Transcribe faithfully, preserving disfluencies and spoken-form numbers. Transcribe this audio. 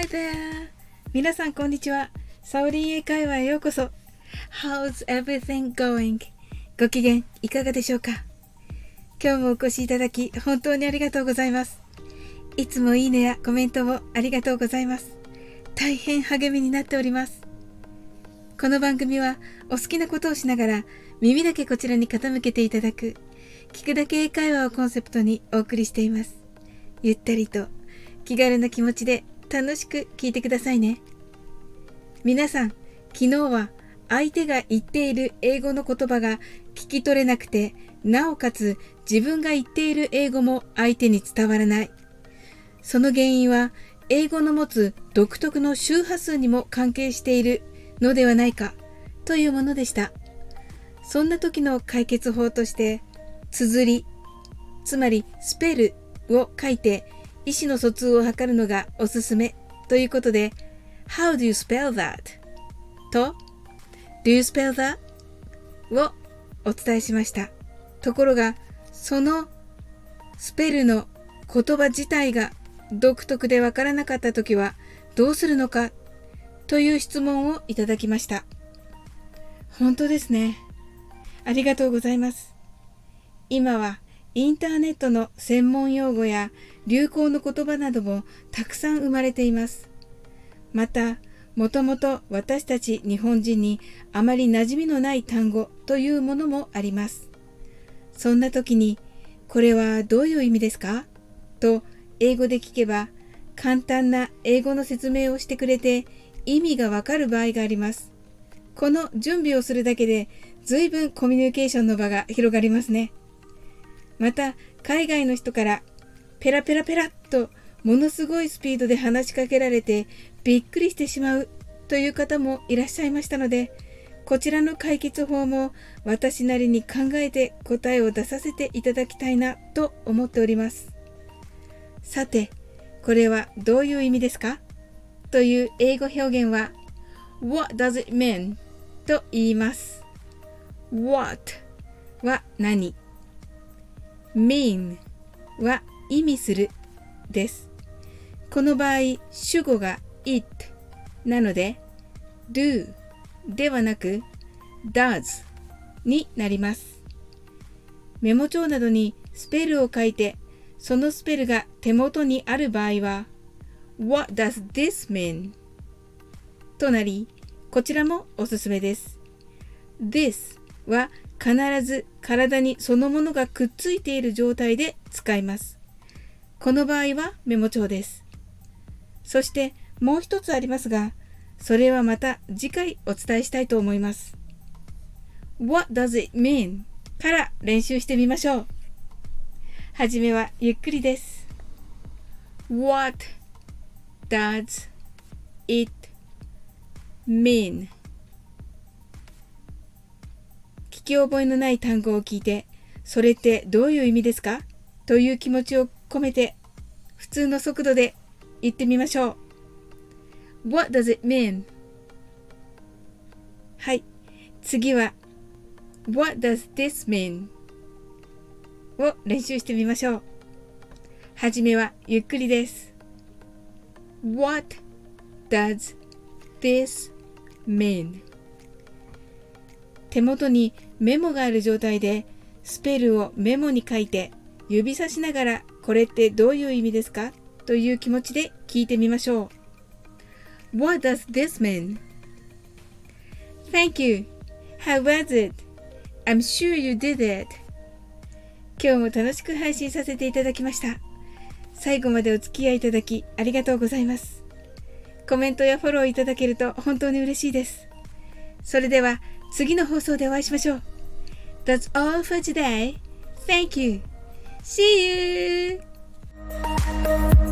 there! 皆さんこんにちは。サオリン英会話へようこそ。How's everything going? ご機嫌いかがでしょうか？今日もお越しいただき本当にありがとうございます。いつもいいねやコメントをありがとうございます。大変励みになっております。この番組はお好きなことをしながら耳だけこちらに傾けていただく聞くだけ英会話をコンセプトにお送りしています。ゆったりと気軽な気持ちで楽しく聞いてくださいね。皆さん、昨日は相手が言っている英語の言葉が聞き取れなくて、なおかつ自分が言っている英語も相手に伝わらない。その原因は英語の持つ独特の周波数にも関係しているのではないかというものでした。そんな時の解決法として、綴り、つまりスペルを書いて意思の疎通を図るのがおすすめということで、How do you spell that? と Do you spell that? をお伝えしました。ところが、そのスペルの言葉自体が独特でわからなかったときはどうするのかという質問をいただきました。本当ですね。ありがとうございます。今はインターネットの専門用語や流行の言葉などもたくさん生まれています。また、もともと私たち日本人にあまり馴染みのない単語というものもあります。そんな時に、これはどういう意味ですか？と英語で聞けば、簡単な英語の説明をしてくれて意味がわかる場合があります。この準備をするだけで随分コミュニケーションの場が広がりますね。また、海外の人からペラペラペラっとものすごいスピードで話しかけられてびっくりしてしまうという方もいらっしゃいましたので、こちらの解決法も私なりに考えて答えを出させていただきたいなと思っております。さて、これはどういう意味ですか？という英語表現は What does it mean? と言います。What は何？ mean は意味するです。この場合、主語が it なので do ではなく does になります。メモ帳などにスペルを書いて、そのスペルが手元にある場合は What does this mean? となり、こちらもおすすめです。this は必ず体にそのものがくっついている状態で使います。この場合はメモ帳です。そしてもう一つありますが、それはまた次回お伝えしたいと思います。What does it mean? から練習してみましょう。はじめはゆっくりです。What does it mean? 聞き覚えのない単語を聞いて、それってどういう意味ですか？という気持ちを込めて、普通の速度で言ってみましょう。What does it mean? はい。次は What does this mean? を練習してみましょう。はじめはゆっくりです。What does this mean? 手元にメモがある状態でスペルをメモに書いて指さしながら、これってどういう意味ですか？という気持ちで聞いてみましょう。What does this mean? Thank you. How was it? I'm sure you did it. 今日も楽しく配信させていただきました。最後までお付き合いいただきありがとうございます。コメントやフォローいただけると本当に嬉しいです。それでは次の放送でお会いしましょう。That's all for today. Thank you. See you!